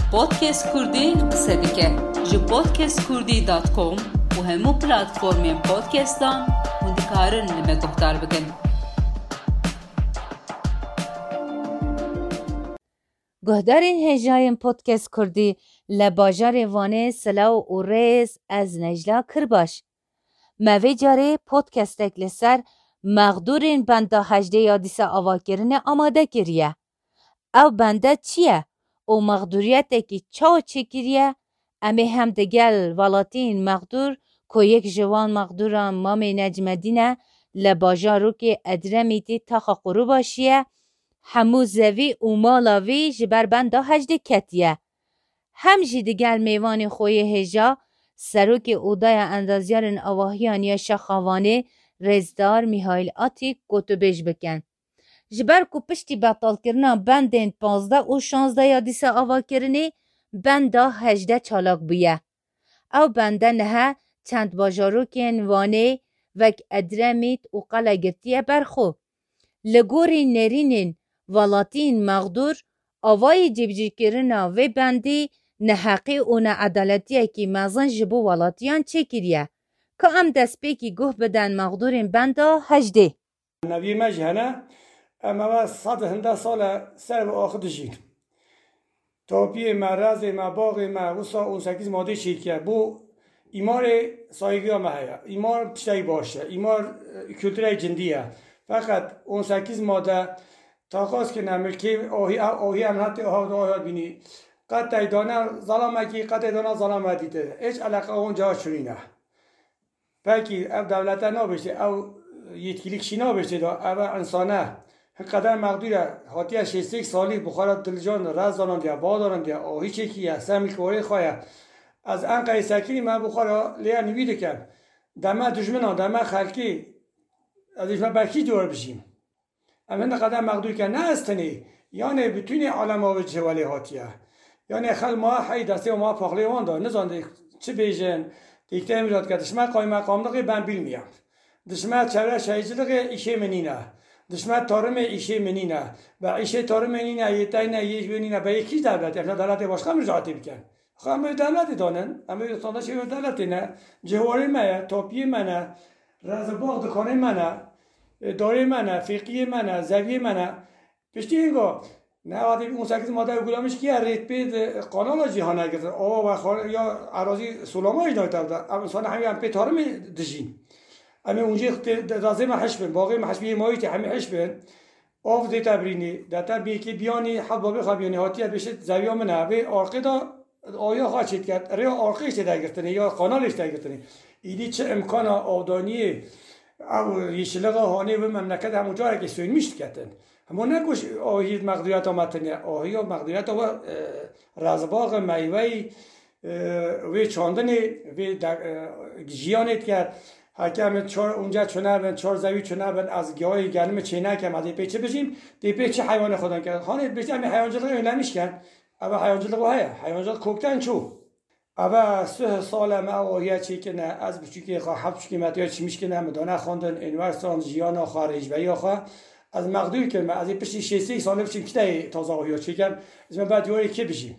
پودکست کردی قصه دیگه جو podcastkurdی.com و همو پلاتفورمین پودکستان هندکارن لما گفتار بکن. گهدارین هجایم پودکست کردی لباجار وانه سلاو و ریز از نجلا کرباش. موی جاره پودکستک لسر مقدورین بنده 18 یادیسه آواکرنه آماده کریه. او بنده چیه؟ او مقدوریت که چاو چکریه؟ امی هم دگل ولاتین مقدور که یک جوان مقدوران مامی نجمدینه لباجارو که ادرمیتی تاخا قرو باشیه همو زوی و مالاوی جبر بنده 18 کتیه. هم جی دگل میوان خوی هجا سروک اودای اندازیارن آواهیان یا شخوانه رزدار میهایل آتی گوتو بیش بکن. جبر کو پشتی بطال کرنا بندین 15 و 16 یادیسه آوا کرنی بنده 18 چالاک بویه. او بنده نه چند باجاروکین وانه وک ادرمیت و قلقرتیه برخو. لگوری نرینین ولاتین مقدور آوای جبجی کرنا و بندی نحقی و نعدالتیه که مزن جبو ولاتیان چه کریه که ام دست پیکی گوه بدن مقدورین بنده 18. نبی مجهنه اما صد هنده سال سر و آخر دجین تاپی مرز ما باغ ما وسا اون 8 ماده شیکه بو ایمار سایگی ما هیا ایمار تشتی باشه ایمار کلتوری جندیه فقط اون 8 ماده تاقاس که نملکی آهی امنات آهات بینی قطع دانه ظلامکی قطع دانه ظلام دیده هیچ علاقه اونجا شرینه پاکی او دولت نباشه او یتکلیک شینا بشه دا او انسانه قدر مقدوره هاتیه 6 سالی بخارت دلجان رز دانان دیا با دانان دیا آهی چکیه سمیل کوری خواه از انقای سکری من بخارا لیا نویده کن دمه دجمنان دمه خلکی از دجمن برکی دور بشیم اما قدر مقدور که نه استنی یعنی بتونی عالم آوه جوالی هاتیه یعنی خل ما حی دسته و ما پاقلی وان دار نزانده چه بیجن دیکته امیرات که دشمه قای مقام دقی بن بیل میام دشمه چره شایجلقی ایشه منینه دشمه تارم ایشه منینه و ایشه تارم منینه یتاینه یش بینینه به یکی دولت افنا دولت باشقه مرجعاتی بکن خواهم دولتی دانن اما یستانده شوی دولتی نه جواری منه تاپی منه رزباغ دکانه منه داره منه فقیه منه زویه منه پشتی اینگاه نه وقتی اون 8 ماده گلامش کی ریت بید قانون جهان گرفت آوا و خال یا اراضی سلامای ایجاد کرده انسان همین به تارم دجین اما اونجا لازم حشب باقی محشبی مایت همه حشب آف دی تبرینی دتا بی که بیانی حباب خبیانی هاتیه بشه زویا منه و ارقدا آیا خواهد کرد ریا ارقش دگرتنی یا قانالش دگرتنی ایدی چه امکان آودانی او یشلق هانی و مملکت همونجا که سوین میشت کردن همون نکوش آهی مقدوریت آمدنی آهی و مقدوریت و رزباغ میوهی و چاندنی و جیانت کرد حکم چهار اونجا چونه بند 4 زوی چونه بند از گیاه گرم چینه که ما دیپه چه بشیم دیپه چه حیوان خودن کرد خانه بشه همین حیوانجلق نمیش کرد اما حیوانجلق های حیوانجلق کوکتن چو اما 3 سال ما آهیه چی که نه از بچوکی خواه 7 قیمتی ها چی میش که نه مدانه خواندن انورسان جیانا خارج و یا خواه از مقدور کردم از این پشتی 6 ساله بشیم کتای تازه آهیا چکم از من بعد یوری که بشیم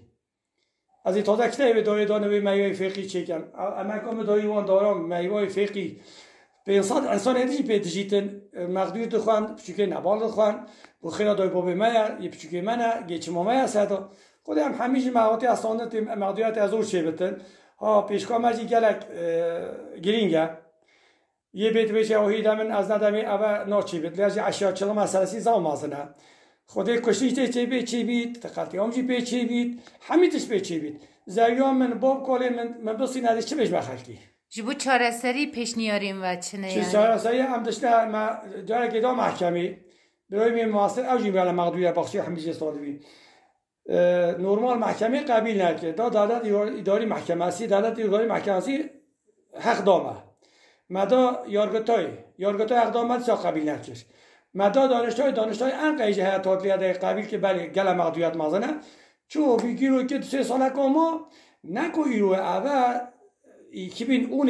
از این تازه کتای به داره دانه به میوه فقی چکم اما کام داری وان دارم میوه فقی به انسان هدیجی به دیجیتن مقدور دخوان بچوکی نبال دخوان بخیرا دای بابه میا یه بچوکی منه گیچ مامه ساده خودم همیشه مهاتی استاندت مقدوریت از اون چه بتن ها پیشکام ماجی گلک گرینگه یه بیت بچه اوهی دامن از ندامی اول ناچی بید لیازی اشیا چلو مسئله‌سی زام مازنه خودی کشیشته چی بید چی بید تقاطی آمجی بید چی بید همیتش بید چی بید زیام من باب کلی من بسی ندیش چه بیش بخلکی جبو چاره سری پیش نیاریم و چنه چه چاره سری هم داشته ما داره که دا محکمی برای می معاصر اوجی میاله مقدوریت بخشی همیشه سالوی نورمال محکمه قبیل نکرد دا دولت اداری محکمه اسی دولت اداری محکمه اسی حق دامه مدا یارگتای اقدامات سا قبیل نکرد مدا دانشتای انقای جهت تادلیه قبیل که بله گل مقدوریت مازنه چو بگیرو که 3 ساله کاما نکو ایرو اول 2010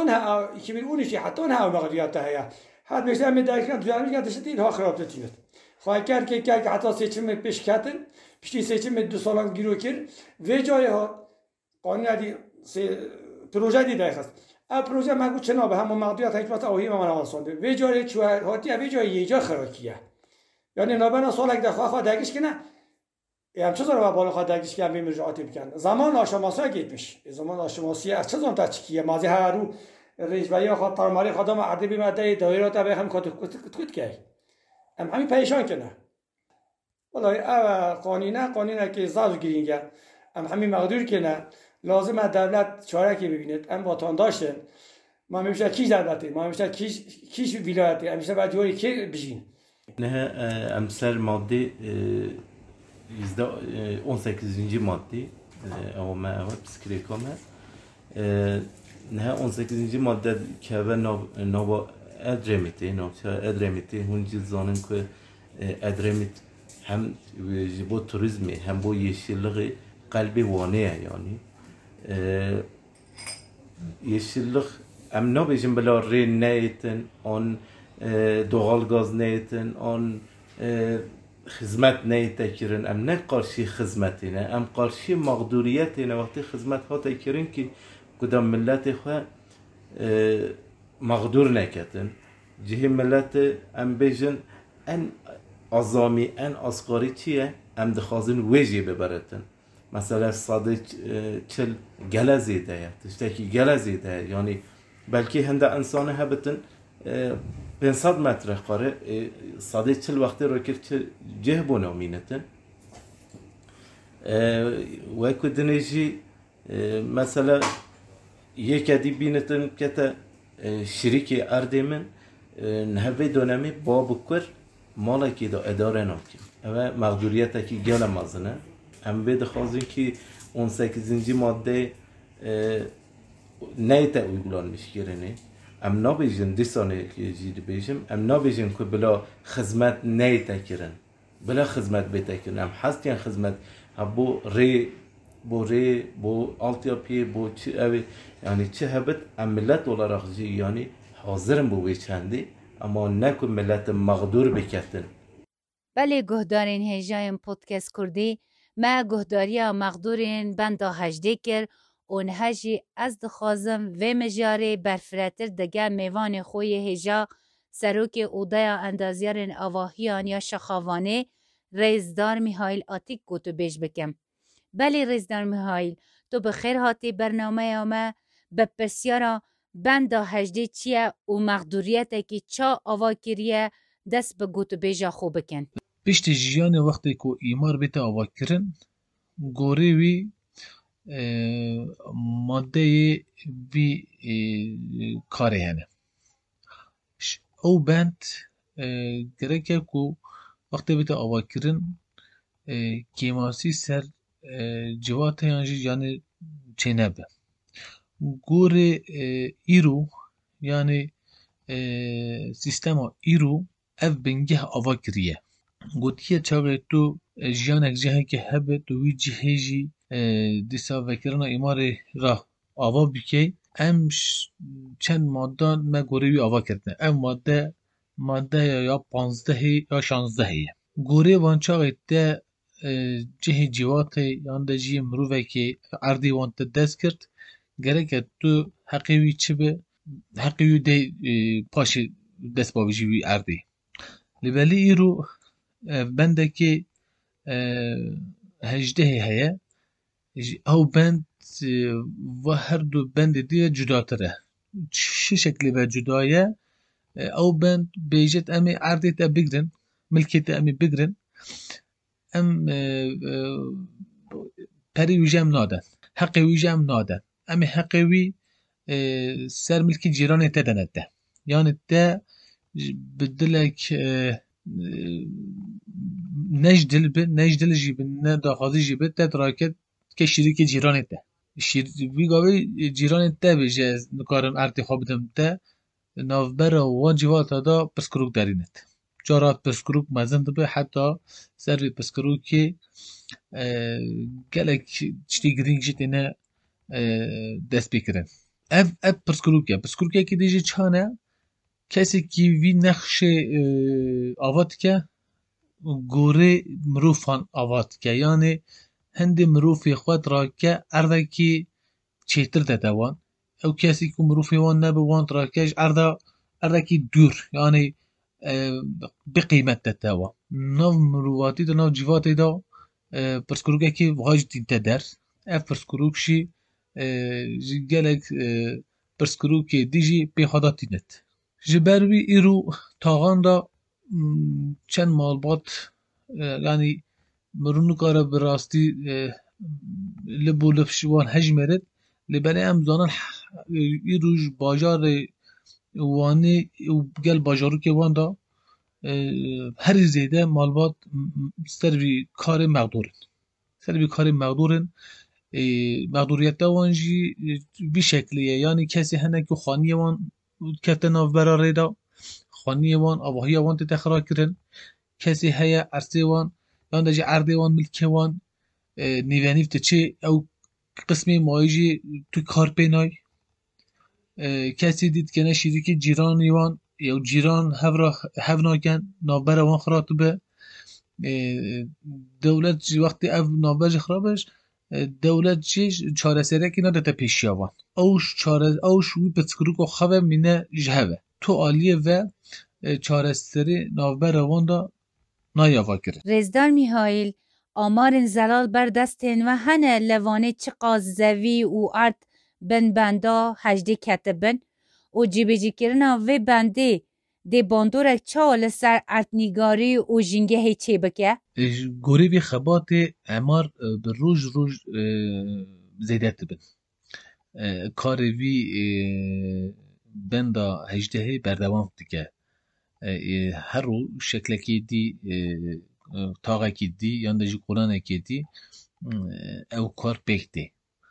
حتی نه مقدوریت هیا حد میشه می درک کنم دوام میگه داشت این ها خراب تیمت خواهی کرد که حتی سیچم پیش کتن پشتی سیچم 2 سالان گیرو کرد و جای ها قانون دی پروژه دی داخست ا پروژه مگو چنا به همون مقدوریت حکمت اوهی من آسانده و جای چوه هاتی و جای یه جا خراکیه یعنی نابنا سالک ده خواه دگیش کنه هم چه زاره بالا خواه دگیش کنه بیم رجاعاتی بکن زمان آشماسی ها گیت میشه زمان آشماسی از چه زمان تا چکیه مازی هر رو رئیس بایی خواه ترماری خدام عرضی بیمده دایره تا به هم کت که همین پیشان کنه والله قانونه که زاز گیرینگه همین مقدور کنه لازم دولت چاره که ببینید وطن داشتن ما میشه کیش دولتی ما میشه کیش ولایتی همیشه بعد جوری که بجین نه امسر ماده 18. ماده او ما او پسکریکامه نه 18. ماده که به نو ادرمیتی هنچی زانن که ادرمیت هم با توریسمی هم با yeşilliği قلبی وانه یعنی yeşillik ام نبیشیم بلا ری نیتن آن دوغال گاز نیتن آن خدمت نیت کرن ام نه قارشی خدمتی نه ام قارشی مقدوریتی نه وقتی خدمت ها تکرین که کدام ملت خواه مقدور نکتن جه ملت ام بیشن ان azami en asgari çiye em dixwazin wê jê biberetin mesela sadê çil gele zêde ye tiştekî gele zêde ye yani belkî hinde insanê hebitin 500 metre xare sadê çil wextê rokir cih bû namînetin wekû dinê jî mesela yekê bînitin kete şirîkê erdê min nihevê dönemê ba bikir مالکی دا اداره نکیم و مقدوریت کی گل مازنه هم به دخوازیم که 18. ماده نیت uygulan میشگرنه ام نبیشن دیسانه که جید بیشم ام نبیشن که بلا خدمت نیت کرن بلا خدمت بیت کرن ام حسیان خدمت بو آلتیاپی بو چه اوی یعنی چه هبت ام ملت olarak yani حاضرم بو چندی اما نکن ملت مقدور بکتن بله گهدارین هجایم پودکست کردی ما گهداریا مقدورین بندا هجده کر اون هجی از دخوازم و مجاره برفراتر دگه میوان خوی هجا سروک اودایا اندازیارن آواهیان یا شخاوانه رئیسدار میهایل آتیک گوتو بیش بکم بله رئیسدار میهایل تو بخیر هاتی برنامه ما بپرسیارا بندا هجده چیه و مقدوریت که چا آوا کریه دست به گوتو بیجا خوب بکن پشت جیان وقتی که ایمار بیت آوا کرن گوری وی ماده وی کاره هنه او بند گرکه که وقتی بیت آوا کرن کیماسی سر جوات یانجی یعنی چه نبه گوره ایرو یعنی سیستما ایرو اف بنگه آوا کریه گوتیه چاقه تو جیانک جهه که هبه دوی جهه جی دیسا وکرنا ایمار را آوا بکی ام چند ماده ما گوری آوا کردن ام ماده یا 15 یا 16 گوری وان چاقه ده جهه جوات یان ده جی مروفه که عردی وان دست کرد gerek tu haqiwi çibe haqiwi de paşi dest babici wi erdi libeli iru bendeki hejdehi heye ew bend ve her du bende diye cudatire şu şekli ve cudaye ew bend beyjet emi erdi te bigrin milketi emi bigrin em peri wijem naden haqqi wijem naden امی حقیقی سر ملکی جیران تدنده یعنی ده بدلک نجدل جیب نه داخلی جیب ده تراکت که شریک جیران ده وی گاوی جیران ده بیجه نکارن ارتی خواب دم ده نوبر و جوات دا پسکروک دارینت جارات پسکروک مزند به حتی سر پسکروک که گلک چتی گرینگ جت نه دست بکرن اف پرسکروکه که دیجی چانه کسی که وی نقش آوات که گوره مروفان آوات که یعنی هند مروفی خود را که اردکی چیتر دادوان او کسی که مروفی وان نبوان را کهش اردکی دور یعنی به قیمت دادوان نو مروواتی دا نو جیواتی دا پرسکروگه که واج دینته در اف پرسکروگشی گلک پرسکروگ دیجی پیخادا تینت جبروی ایرو تاغان دا چند مالبات yani مرونو کارا براستی لبو لفشوان هجمرد لبنی ام زانن ایروش باجار وانی گل باجارو که وان دا هر زیده مالبات سروی کار مقدورن مقدوریت دا وانجی بی شکلیه یعنی کسی هنه که خانی وان کتن آف براره دا خانی وان آواهی وان تخرا کرن کسی هیا عرصه وان یان دجی عرضه وان ملکه وان نیوانیفت چه او قسمی مایجی تو کار پینای کسی دید که نشیدی که جیرانی وان یا جیران هفناکن نابر وان خراتو به دولت جی وقتی او نابر خرابش دولت جی چاره سره که نده پیشیا وان اوش وی پتکروک و خواه مینه جهوه تو آلیه و چاره سره نابر وان دا نایاوا کرد. رزدار میهایل آمارن زلال بردستن و هنه لوانه چه قازوی و ارد بندا هجده کتبن و جیبجی کرنا و بنده دی باندورک چال سر ارتنیگاری و جنگه هیچه بکه؟ گوری بی خبات امار به روز زیده تبن کاری بی بندا هجده بردوام دیگه هر رو شکلکی دی تاقکی دی یعنی جی قرانکی دی او کار بکتی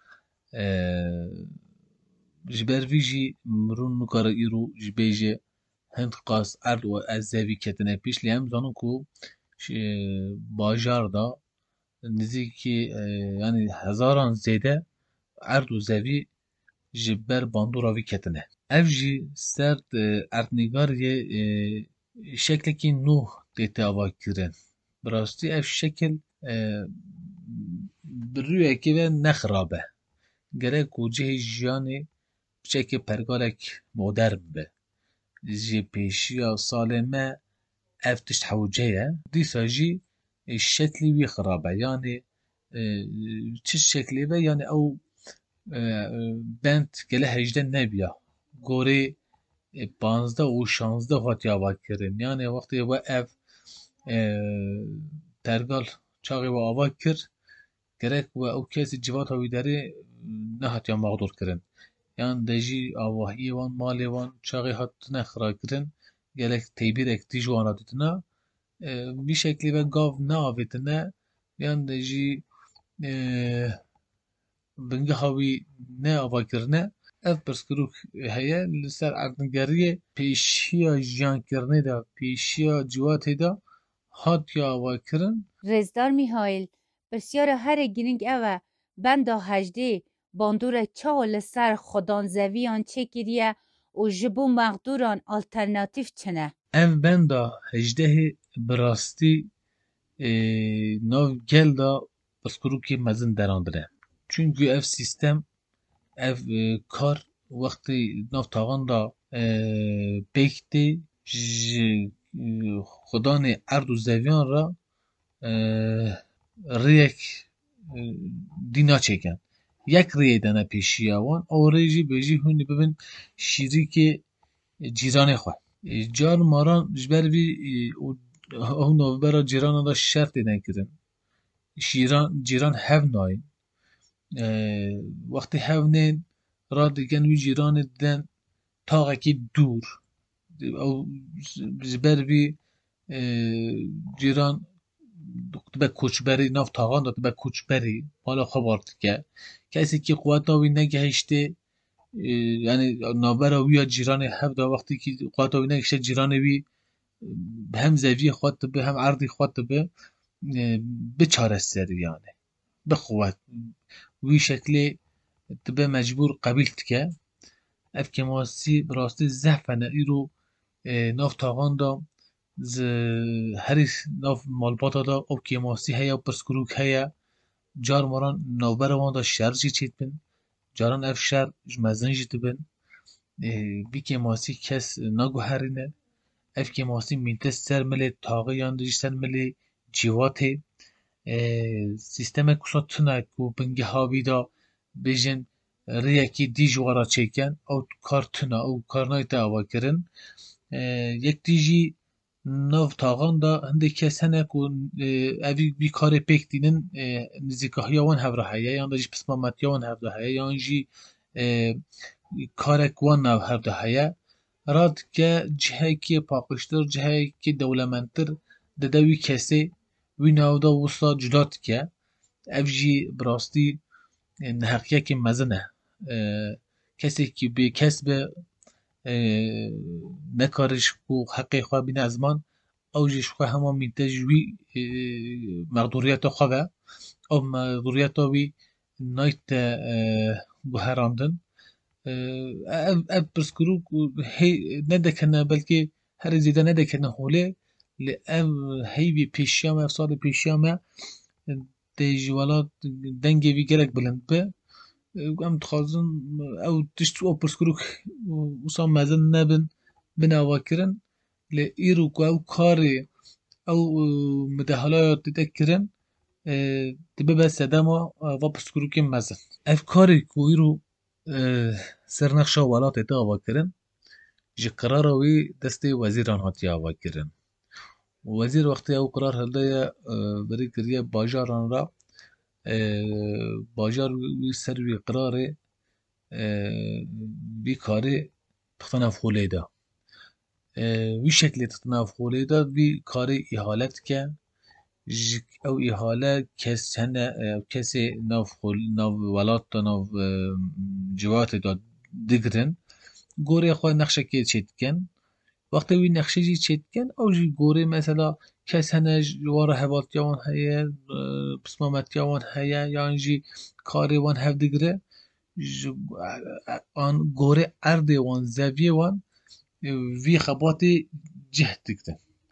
جبر ویجی مرون نکار ایرو جبیجه هند قاس ارد و از زوی کتنه پیش لیم زانو کو باجار دا نزدیکی یعنی هزاران زیده ارد و زوی جبر باندورا وی کتنه اف جی سرد ارتنیگار یه شکلکی نوح دیتا آوا کرن براستی اف شکل بروی که و نخرابه گره کوجه جیانی بچه پرگارک مدرن به جی پیشیا سالمه اف تشت حوجه دیسا جی شکلی وی خرابه یعنی چه شکلی به یعنی او بند گله هجده نبیا گوری 15 و 16 هاتی آوا کرن یعنی وقتی و اف ترگال چاقی و آوا کر گرک و او کسی جوات هاوی داره نه هاتی مقدور کرن یعنی دجی آواهی وان مالی وان چاقی هات نخرا کرن گلک تیبیر اک دیجوانا دیتنا بی شکلی و گاو نه آویتنا یعنی دجی بنگه هاوی نه آوا کرنه اف پرسکروک هیا لسر اردنگریه پیشیا جان کرنه دا پیشیا جواته دا هات یا آوا کرن رزدار میهایل بسیار هر گرینگ اوه بندا هجده باندور چاول سر خودان زویان چه کریه و جبو مقدوران آلترناتیف چنه؟ اف بندا هجده براستی نو گل دا پرسکروکی مزن دراندره چونکه اف سیستم اف کار وقتی نو تاغان دا بیکتی خودان ارد و زویان را ریک دینا چکن یک ریه دنه پیشی آوان او ریجی بیجی هونی ببین شیری که جیران خواه جار ماران جبر بی او نوبرا جیران دا شرط نکردن جیران هف ناین وقتی هف نین را دیگن وی جیران دیدن تاقه که دور او جبر بی جیران به کوچبری ناف تاغان داد به کوچبری حالا خبرت که کسی که قوت ناوی نگهشته یعنی نابر وی جیران هف دا وقتی که قوت ناوی نگهشته جیران وی هم زوی خواهد به هم عرضی خواهد به چاره سری یعنی به قوت وی شکلی به مجبور قبیل که اف که ماسی براستی زفنه ای رو ناف تاغان دا هری ناف مالباتا دا او کیماسی هیا و پرسکروک هیا جار مران نوبر وان دا شهر جی چیت بن جاران اف شهر مزن جیت بن بی کیماسی کس نگو هرینه اف کیماسی مینتس سر ملی تاقه یاندجی سر ملی جیواته سیستم کسا تنه کو بنگه هاوی دا بیجن ریکی دی جوارا چیکن او کار تنه او کار نایتا آوا کرن یک دیجی ناف تاغان دا هنده کس هنه که اوی بی کار پیک دینن نزیکه یاوان هفره هیا یان دا جی پسمامت یاوان هفره هیا یان جی کارک وان ناو هفره هیا راد که جهه که پاقشتر جهه که دولمنتر ددوی کسی وی ناو دا وستا جدات که او جی براستی نحقیه که مزنه کسی که به کسب نکارش کو حقی خواه بین ازمان او جیش خواه همه مینتج وی مقدوریت خواه او مقدوریت وی نایت گوهراندن او پرسکرو ندکنه بلکه هر زیده ندکنه خوله لی او هیوی پیشیامه اف سال پیشیامه دیجوالا دنگی وی گرک بلند به ام تخازن او تشتو او پرسکروک وصا مزن نبن بنا کرن لی ایرو که او کاری او مدهالایات تذکرن تبه بس دما و پرسکروک مزن اف کاری که ایرو سرنخشا ولات تا آوا کرن جی قراروی دست وزیران هاتی آوا کرن وزیر وقتی او قرار هلده بری کریه باجاران را باجار وی سر وی قراره بی کاری تختناف خوله دا وی شکلی تختناف خوله دا وی کاری احالت که او احاله کس هنه کسی ناف ولات دا ناف جوات دا دگرن گوره خواه نقشه که چید کن وقتی وی نقشه جی چید کن او جی گوره مثلا کس هنه جوار حوالت یاوان هیا پسمامت یاوان هیا یا انجی کاری وان هف دگره آن گوره ارده وان زویه وان وی خباتی جهد دگرن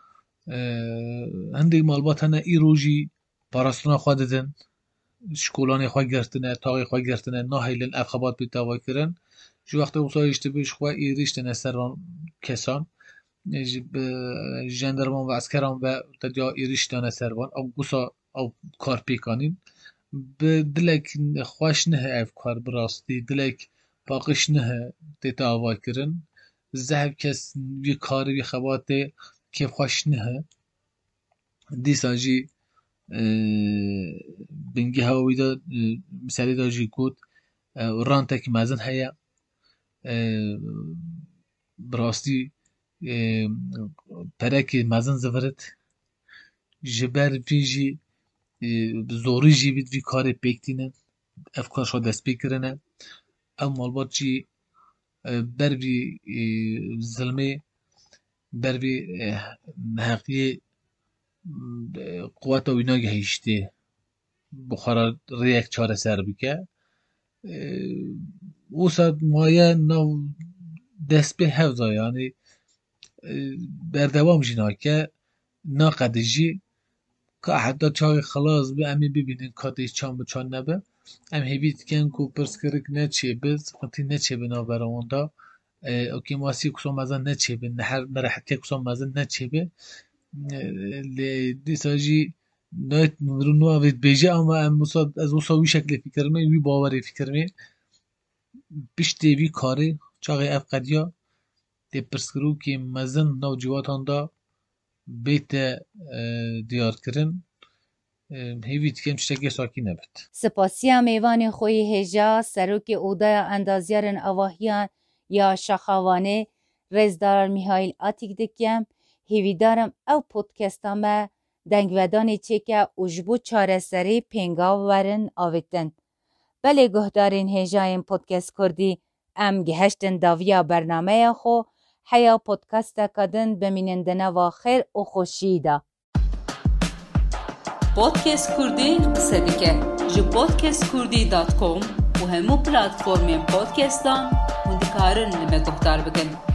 هنده مالبات هنه ای روژی پاراستونا خواه ددن شکولانی خواه گرتنه تاقی خواه گرتنه ناهیلن اف خبات بید دوا کرن جو وقتی اوصایشتی بیش خواه ای ریشتنه سران کسان جندرمان و اسکران و تدیا ایریش دانه سروان او گوسا او کار پیکانین به دلک خوش نه اف کار براستی دلک باقش نه دیتا آوا کرن زهب کس وی کاری وی خواته که خوش نه دیسا جی بنگی هاوی دا مثالی دا جی کود ران تک مزن هیا براستی پرک مزن زفرت جبر ویجی زوری جی بید وی کار پیکتینه افکار شو دست پیکرنه او مالبات جی بر وی ظلمه بر وی نحقی قوات وینا گهیشته بخارا ریک چاره سر بکه او ساد مایه نو دست به حفظه یعنی بردوام جینا که ناقدجی که حتی چاقی خلاص به امی ببینین کاتیش چان بچان نبه ام هیوید کن کو پرسکرک نچه بز قطی نچه به نابرامون دا اوکی ماسی کسان مزن نچه به نهر مرحکه کسان مزن نچه به دیسا جی نایت مرونو اوید بیجه اما ام از وصاوی شکل فکرمه وی باوری فکرمه پشتی وی کاری چاقی اف قدیا دی پرسکرو که مزن نو جواتان دا بیت دیار کرن هیوید کم چتگه ساکی نبید سپاسی میوان خوی هجا سروک اودای اندازیارن اواهیان یا شخوانه رزدار میهایل آتیک دکیم هیویدارم او پودکستامه دنگودانی چه که اجبو چاره سری پینگاو ورن آویتن بله گهدارین هجاین پودکست کردی ام گهشتن داویا برنامه خو حیا پودکست کدن بمینندنه و خیر و خوشیده پودکست کردی قصه دیگه جو podcastkurdی.com و همو پلاتفورم پودکستان و دکارن لما گفتار بکن